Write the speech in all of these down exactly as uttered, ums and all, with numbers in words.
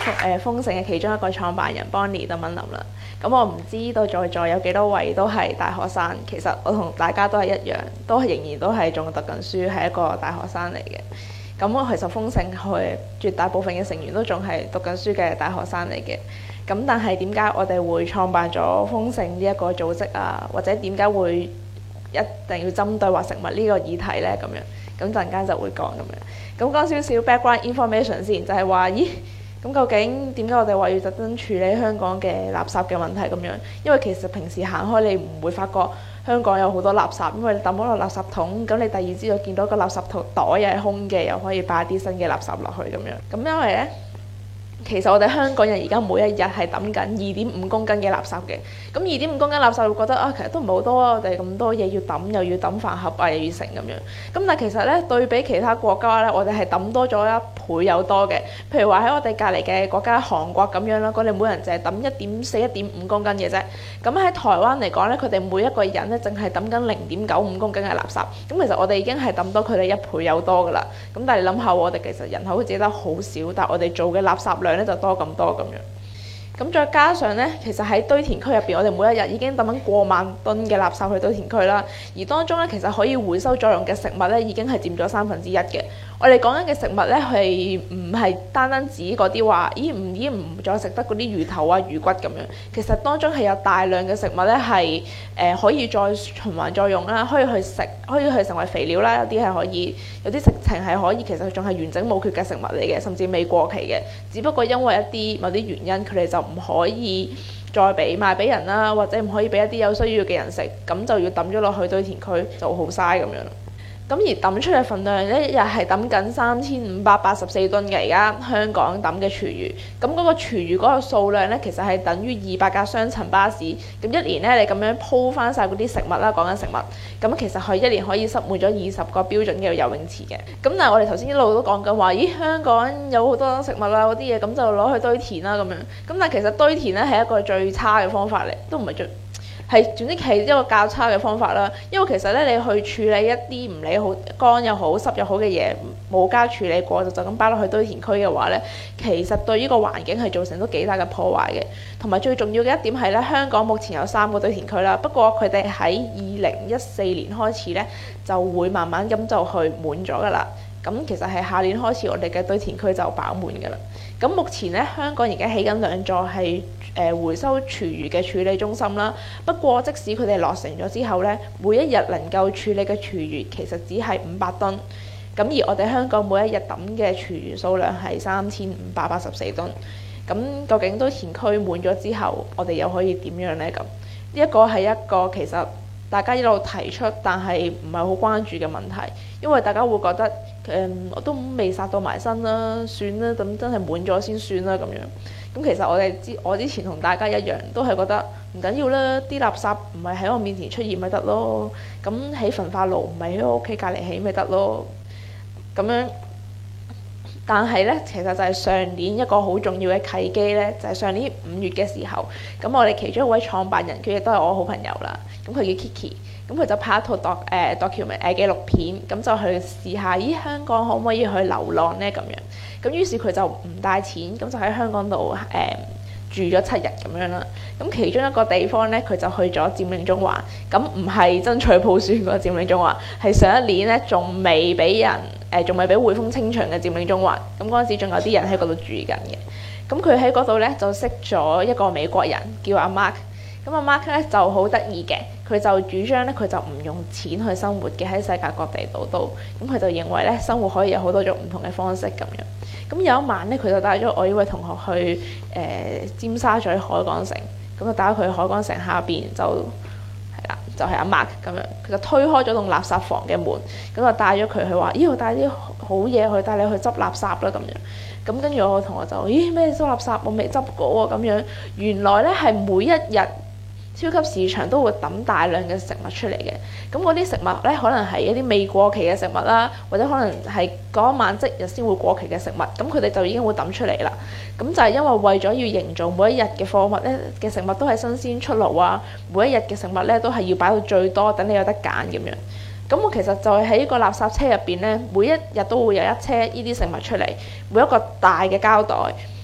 誒豐盛嘅其中一個創辦人 Bonnie 鄧敏琳啦。咁我唔知道在座有幾多位都係大學生，其實我同大家都係一樣，都係仍然都係仲讀緊書，係一個大學生嚟嘅。咁其實豐盛佢絕大部分嘅成員都仲係讀緊書嘅大學生嚟嘅。咁但係點解我哋會創辦咗豐盛呢一個組織啊？或者點解會一定要針對話食物呢個議題呢？咁樣咁陣間就會講咁樣。咁講少少 background information 先，就係話咦。咁究竟點解我哋話要特登處理香港嘅垃圾嘅問題咁樣？因為其實平時行開你唔會發覺香港有好多垃圾，因為你抌咗落垃圾桶，咁你第二朝就見到個垃圾桶袋又係空嘅，又可以擺啲新嘅垃圾落去咁樣。咁因為呢，其實我哋香港人而家每一日係抌緊二點五公斤嘅垃圾嘅。咁二點五公斤垃圾，會覺得啊，其實都唔係好多啊，我哋咁多嘢要抌，又要抌飯盒啊，又要成咁樣。咁但係其實咧，對比其他國家咧，我哋係抌多咗一倍有多嘅。譬如話喺我哋隔離嘅國家韓國咁樣啦，佢哋每人淨係抌一點四、一點五公斤嘅啫。咁喺台灣嚟講咧，佢哋每一個人咧，淨係抌緊零點九五公斤嘅垃圾。咁其實我哋已經係抌多佢哋一倍有多噶啦。咁但係你諗下，我哋其實人口只得好少，但係我哋做嘅垃圾量咧就多咁多咁樣。咁再加上呢，其實喺堆填區入邊，我哋每一日已經抌緊過萬噸嘅垃圾去堆填區啦。而當中呢，其實可以回收作用嘅食物呢，已經係佔咗三分之一嘅。我哋講緊嘅食物呢，係唔係單單指嗰啲話，咦唔已經唔再食得嗰啲魚頭啊、魚骨咁樣。其實當中係有大量嘅食物呢，係誒、呃、可以再循環再用啦，可以去食，可以去成為肥料啦。有啲係可以，有啲食情係可以，其實仲係完整冇缺嘅食物嚟嘅，甚至未過期嘅。只不過因為一啲某啲原因，佢哋就唔可以再俾賣俾人啦，或者唔可以俾一啲有需要嘅人食，咁就要抌咗落去堆填區，就好嘥咁樣。咁而抌出嘅份量呢，一日係抌緊三千五百八十四噸嘅，而家香港抌嘅廚餘。咁嗰個廚餘嗰個數量呢，其實係等於二百架雙層巴士。咁一年呢，你咁樣鋪翻晒嗰啲食物啦，講緊食物，咁其實佢一年可以塞滿咗二十個標準嘅游泳池嘅。咁但係我哋頭先一路都講緊話，咦香港有好多食物啦，嗰啲嘢咁就攞去堆填啦咁樣。咁但係其實堆填呢係一個最差嘅方法嚟，都唔係最。係總之係一個較差嘅方法啦，因為其實咧你去處理一啲唔理好乾又好濕又好嘅嘢，冇加處理過就就咁擺落去堆填區嘅話咧，其實對呢個環境係造成都幾大嘅破壞嘅。同埋最重要嘅一點係咧，香港目前有三個堆填區啦，不過佢哋喺二零一四年開始咧就會慢慢咁就去滿咗噶啦。咁其實係下年開始，我哋嘅堆填區就飽滿㗎啦。咁目前咧，香港而家起緊兩座係誒、呃、回收廚餘嘅處理中心啦。不過即使佢哋落成咗之後咧，每一日能夠處理嘅廚餘其實只係五百噸。咁而我哋香港每一日抌嘅廚餘數量係三千五百八十四噸。咁究竟堆填區滿咗之後，我哋又可以點樣呢？咁呢一個係一個其實大家一路提出，但係唔係好關注嘅問題，因為大家會覺得誒、嗯、我都未殺到埋身啦，算啦，咁真係滿咗先算啦咁樣。咁其實我哋之我之前同大家一樣，都係覺得唔緊要啦，啲垃圾唔係喺我面前出現咪得咯，咁起焚化爐唔係喺我屋企隔離起咪得咯，咁樣。但係咧，其實就係上年一個好重要嘅契機咧，就係、是、上年五月嘅時候，咁我哋其中一位創辦人，佢亦都係我好朋友啦。咁佢叫 Kiki，咁佢就拍一套 doc 誒 document 誒紀錄片，咁就去試下，咦香港可唔可以去流浪呢？咁樣，咁於是佢就唔帶錢，咁就喺香港度誒、呃、住咗七日咁樣啦。咁其中一個地方咧，佢就去咗佔領中環，咁唔係爭取普選嗰個佔領中環，係上一年咧仲未俾人。誒仲未俾匯豐清場嘅佔領中環，咁嗰陣時仲有啲人喺嗰度住緊嘅。咁佢喺嗰度咧就識咗一個美國人叫阿 Mark。咁阿 Mark 咧就好得意嘅，佢就主張咧佢就唔用錢去生活嘅，喺世界各地度都。咁佢就認為咧生活可以有好多種唔同嘅方式咁樣。咁有一晚咧，佢就帶咗我呢位同學去誒、呃、尖沙咀海港城，咁就帶咗佢去海港城下邊就。就係阿 Mark 咁樣，佢就推開咗棟垃圾房嘅門，咁就帶咗佢去話：咦，我帶啲好嘢去，帶你去執垃圾啦咁樣。咁跟住我同學就：咦，咩執垃圾？我未執過喎咁樣。原來咧係每一日超級市場都會抌大量嘅食物出嚟嘅。咁嗰啲食物咧，可能係一啲未過期嘅食物啦，或者可能係嗰晚即日先會過期嘅食物。咁佢哋就已經會抌出嚟啦。咁就係因為為咗要營造每一日嘅貨物咧嘅食物都係新鮮出爐啊，每一日嘅食物咧都係要擺到最多，等你有得揀咁樣。咁我其實就係喺呢個垃圾車入邊咧，每一日都會有一車呢啲食物出嚟，每一個大嘅膠袋，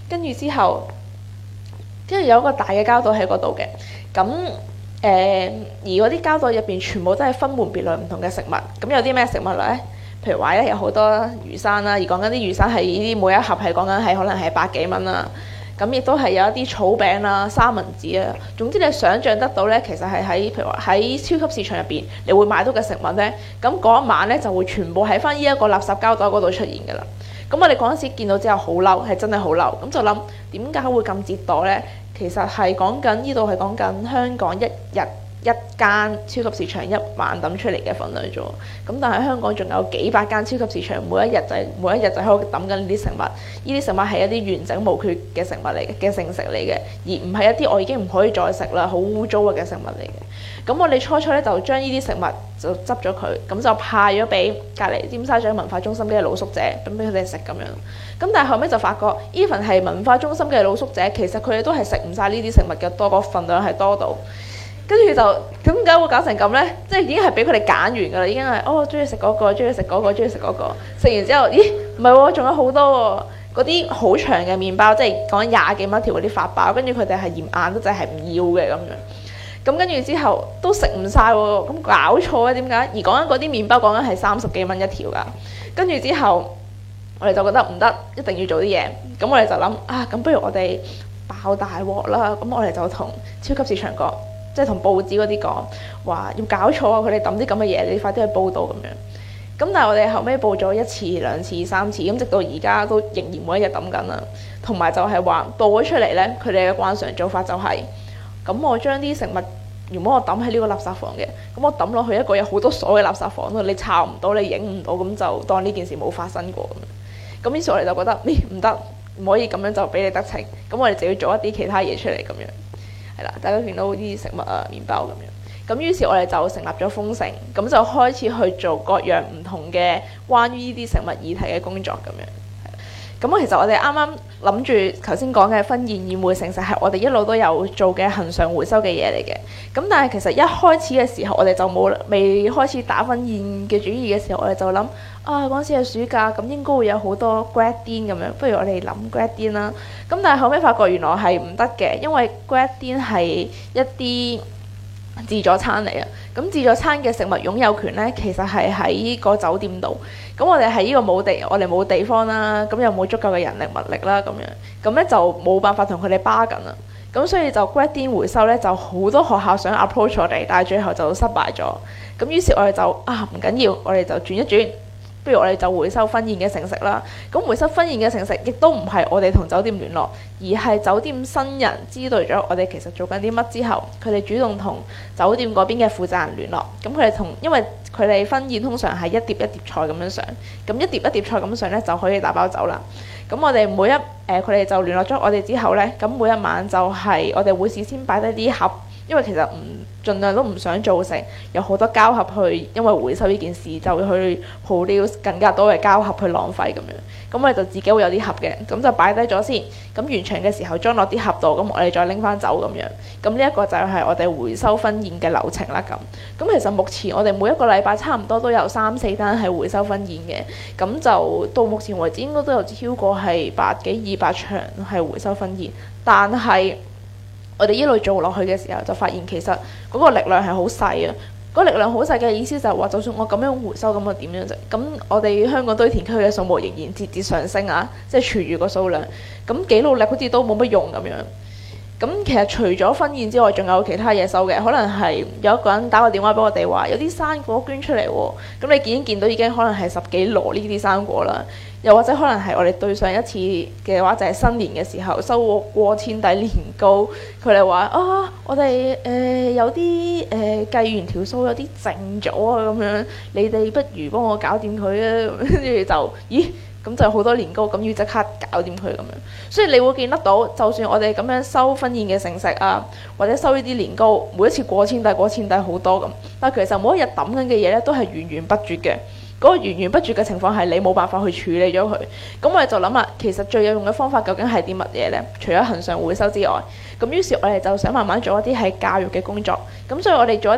跟住之後，跟住有一個大嘅膠袋喺嗰度嘅，咁誒、呃、而嗰啲膠袋入邊全部都係分門別類唔同嘅食物，咁有啲咩食物咧？譬如話咧，有好多魚生啦，而講緊啲魚生係呢啲每一盒係講緊係可能係百幾蚊啦。咁亦都係有一啲草餅啦、三文治啊，總之你想像得到咧，其實係喺譬如話喺超級市場入邊，你會買到嘅食物咧，咁嗰一晚咧就會全部喺翻呢一個垃圾膠袋嗰度出現㗎啦。咁我哋嗰陣時見到之後好嬲，係真係好嬲，咁就諗點解會咁折墮咧？其實係講緊呢度係講緊香港一日一間超級市場一晚抌出嚟嘅份量啫，咁但係香港仲有幾百間超級市場，每一日就係、每一日就喺度抌緊呢啲食物，呢啲食物係一啲完整無缺嘅食物嚟嘅嘅剩食嚟嘅，而唔係一啲我已經唔可以再食啦，好污糟嘅食物嚟嘅。咁我哋初初咧就將呢啲食物就執咗佢，咁就派咗俾隔離尖沙咀文化中心嘅露宿者，咁俾佢哋食咁樣。咁但係後尾就發覺，even係文化中心嘅露宿者，其實佢哋都係食唔晒呢啲食物嘅，多個份量係多到。跟住就咁點解會搞成咁呢？即係已經係俾佢哋揀完㗎啦，已經係哦，中意食嗰個，中意食嗰個，中意食嗰個。食完之後，咦？唔係喎，仲有好多喎，嗰啲好長嘅麵包，即係講緊廿幾蚊一條嗰啲法包，跟住佢哋係嫌硬得滯，係唔要嘅咁樣。咁跟住之後都食唔晒喎，咁搞錯啊？點解？而講緊嗰啲麵包講緊係三十幾蚊一條㗎。跟住之後，我哋就覺得唔得，一定要做啲嘢。咁我哋就諗啊，咁不如我哋爆大鑊啦！咁我哋就同超級市場講。即係同報紙嗰啲講話要搞錯啊！佢哋抌啲咁嘅嘢，你快啲去報導咁樣。咁但係我哋後尾報咗一次、兩次、三次，咁直到而家都仍然每一日抌緊啦。同埋就係話報咗出嚟呢，佢哋嘅慣常做法就係、是：咁我將啲食物，如果我抌喺呢個垃圾房嘅，咁我抌落去一個有好多鎖嘅垃圾房度，你抄唔到，你影唔到，咁就當呢件事冇發生過咁樣。咁於是我哋就覺得，咦唔得，唔可以咁樣就俾你得逞。咁我哋就要做一啲其他嘢出嚟咁樣。係啦，大家見到啲食物啊、麵包咁樣，咁於是我哋就成立咗豐盛，咁就開始去做各樣唔同嘅關於呢啲食物議題嘅工作咁樣。咁其實我哋啱啱諗住頭先講嘅婚宴宴會盛事係我哋一路都有做嘅恆常回收嘅嘢嚟嘅。咁但係其實一開始嘅時候，我哋就冇未開始打婚宴嘅主意嘅時候，我哋就諗啊嗰陣時係暑假，咁應該會有好多 grad din 咁樣，不如我哋諗 grad din 啦。咁但係後尾發覺原來係唔得嘅，因為 grad din 係一啲自助餐嚟啊。咁自助餐嘅食物擁有權呢，其實係喺個酒店度。咁我哋喺呢個冇地，我哋冇地方啦，咁又冇足夠嘅人力物力啦，咁樣，咁咧就冇辦法同佢哋 bargain啦。咁所以就 grad din 回收呢，就好多學校想 approach 我哋，但係最後就失敗咗。咁於是我哋就啊唔緊要，我哋就轉一轉。不如我哋就回收婚宴嘅剩食啦。咁回收婚宴嘅剩食，亦都唔係我哋同酒店聯絡，而係酒店新人知道咗我哋其實做緊啲乜之後，佢哋主動同酒店嗰邊嘅負責人聯絡。咁佢哋同，因為佢哋婚宴通常係一碟一碟菜咁樣上，咁一碟一碟菜咁上呢，就可以打包走啦。咁我哋每一誒佢哋就聯絡咗我哋之後呢，咁每一晚就係我哋會事先擺低啲盒。因為其實唔盡量都唔想造成有好多膠盒去，因為回收呢件事就會去 produce 更加多嘅膠盒去浪費咁樣。咁我哋就自己會有啲盒嘅，咁就擺低咗先。咁完場嘅時候裝落啲盒度，咁我哋再拎翻走咁樣。咁呢一個就係我哋回收婚宴嘅流程啦。咁咁其實目前我哋每一個禮拜差唔多都有三四單係回收婚宴嘅。咁就到目前為止應該都有超過係百幾二百場係回收婚宴，但係我哋一路做落去嘅時候，就發現其實嗰個力量係好細啊！嗰個力量好細嘅意思就係話，就算我咁樣回收，咁我點樣啫？咁我哋香港堆填區嘅數目仍然節節上升啊！即係廚餘個數量，咁幾努力好似都冇乜用咁樣。咁其實除咗婚宴之外，仲有其他嘢收嘅，可能係有一個人打個電話俾我哋話，有啲生果捐出嚟喎。咁你見見到已經可能係十幾籮呢啲生果啦。又或者可能係我哋對上一次嘅話，就係新年嘅時候收過過千底年糕，佢哋話啊，我哋誒、呃、有啲誒、呃、計完條數有啲剩咗啊咁樣，你哋不如幫我搞掂佢啊，跟住就咦咁就好多年糕，咁要即刻搞掂佢咁樣。所以你會見得到，就算我哋咁樣收婚宴嘅剩食啊，或者收呢啲年糕，每一次過千底過千底好多咁，但係其實每一日抌緊嘅嘢咧都係源源不絕嘅。嗰個源源不絕嘅情況係你冇辦法去處理咗佢，咁我哋就諗啦，其實最有用嘅方法究竟係啲乜嘢呢？除咗恆常回收之外，咁於是我哋就想慢慢做一啲係教育嘅工作，咁所以我哋做一啲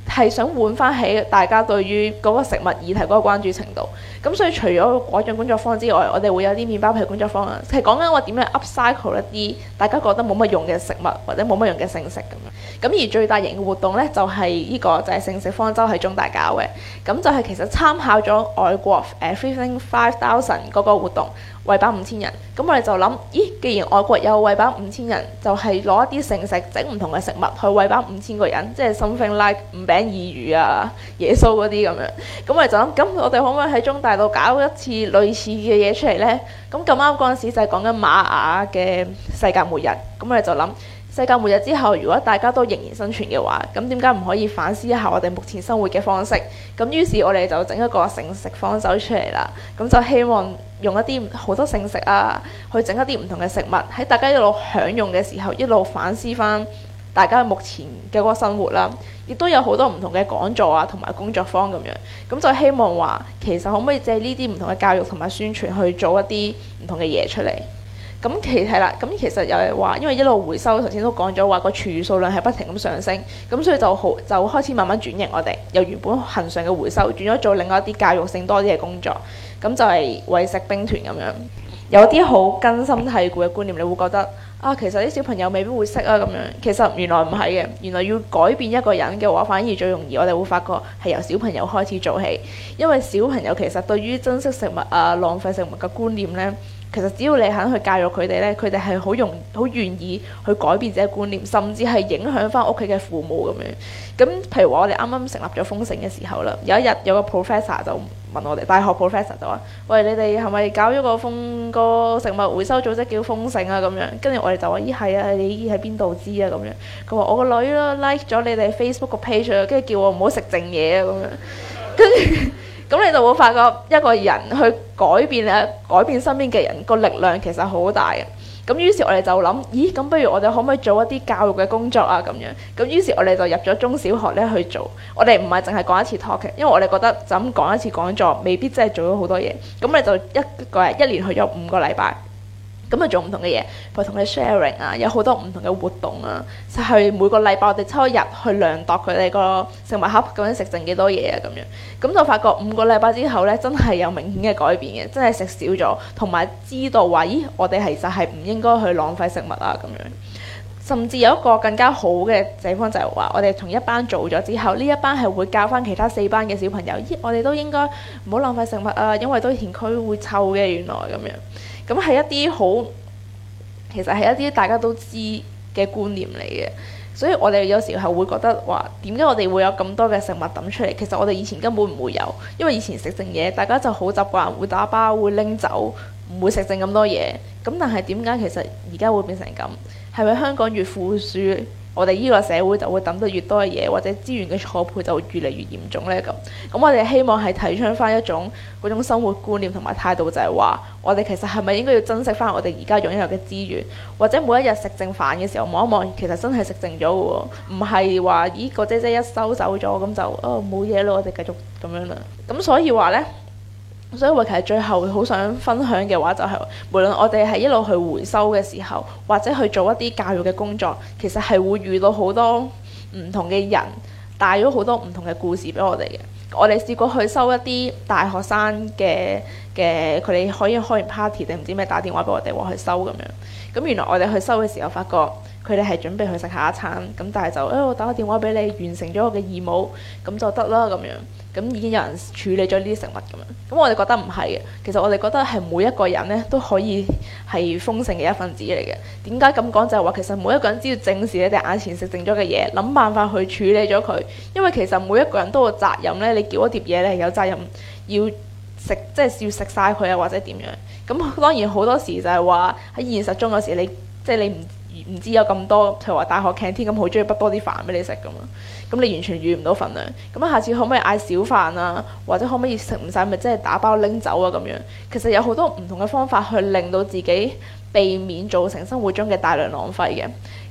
係想換翻起大家對於嗰個食物議題嗰個關注程度。咁所以除咗果醬工作坊之外，我哋會有啲麵包皮工作坊啊，係講緊我點樣 upcycle 一啲大家覺得冇乜用嘅食物或者冇乜用嘅剩食咁樣。咁而最大型嘅活動呢，就係、是、呢個就係剩食方舟喺中大搞嘅。咁就係其實參考咗外國誒 Feeding Five Thousand 嗰個活動，餵飽五千人。咁我哋就諗，咦，既然外國有餵飽五千人，就係、是、攞一啲剩食整唔同嘅食物去餵飽五千個人，即係 something like 五餅二魚啊、耶穌嗰啲咁樣。咁我哋就諗，咁我哋可唔可以喺中大度搞一次類似嘅嘢出嚟呢？咁咁啱嗰陣時就係講緊瑪雅嘅世界末日。咁我哋就諗，世界末日之後，如果大家都仍然生存嘅話，咁點解唔可以反思一下我哋目前生活嘅方式？咁於是我哋就整一個剩食方舟出嚟啦。咁就希望用一啲好多剩食啊，去整一啲唔同嘅食物，喺大家一路享用嘅時候，一路反思翻大家目前嘅嗰個生活啦。亦都有好多唔同嘅講座啊，同埋工作坊咁樣。咁就希望話，其實可唔可以借呢啲唔同嘅教育同埋宣傳去做一啲唔同嘅嘢出嚟？咁其係啦，咁其實又係話，因為一路回收，頭先都講咗話個廚餘數量係不停咁上升，咁所以就好就開始慢慢轉型，我哋由原本恆常嘅回收轉咗做另外一啲教育性多啲嘅工作，咁就係餵食兵團咁樣。有啲好根深蒂固嘅觀念，你會覺得啊，其實啲小朋友未必會識啊咁樣。其實原來唔係嘅，原來要改變一個人嘅話，反而最容易。我哋會發覺係由小朋友開始做起，因為小朋友其實對於珍惜食物啊、浪費食物嘅觀念呢，其實只要你肯去教育佢哋呢，佢哋係好容好願意去改變自己觀念，甚至係影響翻屋企嘅父母咁樣。咁譬如話，我哋啱啱成立咗豐盛嘅時候啦，有一日有個 professor 就問我哋，大學 professor 就話：喂，你哋係咪搞咗個豐個食物回收組織叫豐盛啊？咁樣，跟住我哋就話：咦，係啊，你喺邊度知啊？咁樣，佢話我個女啦 like 咗你哋 Facebook 個 page 啊，跟住叫我唔好食剩嘢啊咁樣，跟住。咁你就會發覺一個人去改變啊，改變身邊嘅人個力量其實好大嘅。咁於是我哋就諗，咦，咁不如我哋可唔可以做一啲教育嘅工作啊？咁樣，咁於是我哋就入咗中小學咧去做。我哋唔係淨係講一次 talk 嘅，因為我哋覺得就咁講一次講座未必真係做咗好多嘢。咁我哋就一個人一年去咗五個禮拜。咁啊做唔同嘅嘢，譬如同你 sharing 啊，有好多唔同嘅活動啊，就係每個禮拜我哋抽一日去量度佢哋個食物盒究竟食剩幾多嘢啊咁樣，咁就發覺五個禮拜之後呢，真係有明顯嘅改變嘅，真係食少咗，同埋知道話，咦，我哋其實係唔應該去浪費食物啊咁樣。甚至有一個更加好嘅地方就係話，我哋同一班做咗之後，呢一班係會教翻其他四班嘅小朋友，咦，我哋都應該唔好浪費食物啊，因為堆填區會臭嘅，原來咁樣。咁係一啲好，其實係一啲大家都知嘅觀念嚟嘅，所以我哋有時候會覺得話，點解我哋會有咁多嘅食物抌出嚟？其實我哋以前根本唔會有，因為以前食剩嘢，大家就好習慣會打包、會拎走，唔會食剩咁多嘢。咁但係點解其實而家會變成咁？係咪香港越富庶，我哋呢個社會就會抌得越多嘅嘢，或者資源嘅錯配就會越嚟越嚴重呢？咁咁我哋希望係提倡翻一種嗰種生活觀念同埋態度，就係話我哋其實係咪應該要珍惜翻我哋而家擁有嘅資源，或者每一日食剩飯嘅時候望一望，其實真係食剩咗嘅喎，唔係話咦個姐姐一收走咗咁就哦冇嘢咯，我哋繼續咁樣啦。咁所以話呢。所以我其實最後好想分享嘅話就係、是，無論我哋係一路去回收嘅時候，或者去做一啲教育嘅工作，其實係會遇到好多唔同嘅人，帶咗好多唔同嘅故事俾我哋嘅。我哋試過去收一啲大學生嘅嘅，佢哋可以開完 party 定唔知咩打電話俾我哋話去收咁樣。咁原來我哋去收嘅時候，發覺佢哋係準備去食下一餐，咁但係就誒、哎、我打個電話俾你，完成咗我嘅義務，咁就得啦咁樣。咁已經有人處理咗呢啲食物咁樣，咁我哋覺得唔係嘅。其實我哋覺得係每一個人呢都可以係豐盛嘅一份子嚟嘅。點解咁講？就係話其實每一個人只要正視你哋眼前食剩咗嘅嘢，諗辦法去處理咗佢。因為其實每一個人都有責任呢，你叫一碟嘢你係有責任要食，即係要食晒佢啊，或者點樣。咁當然好多時就係話喺現實中有時你即係你唔唔知有咁多，譬如話大學 canteen 咁好中意畢多啲飯俾你食噶嘛。咁你完全預唔到份量，咁下次可唔可以嗌少飯啊？或者可唔可以食唔晒咪即係打包拎走啊？咁樣其實有好多唔同嘅方法去令到自己避免造成生活中嘅大量浪費嘅。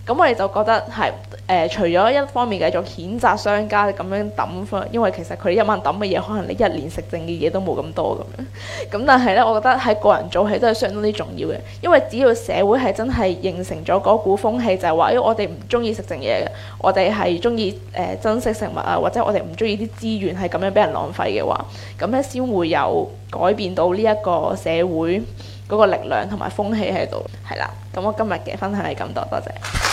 咁我哋就覺得係誒、呃，除咗一方面繼續譴責商家咁樣抌翻，因為其實佢一晚抌嘅嘢，可能你一年食剩嘅嘢都冇咁多咁樣。咁但係咧，我覺得喺個人做起都係相當之重要嘅，因為只要社會係真係形成咗嗰股風氣，就係話，因為我哋唔中意食剩嘢嘅，我哋係中意誒珍惜食物啊，或者我哋唔中意啲資源係咁樣俾人浪費嘅話，咁咧先會有改變到呢一個社會嗰個力量同埋風氣喺度。係啦，咁我今日嘅分享係咁多，多謝。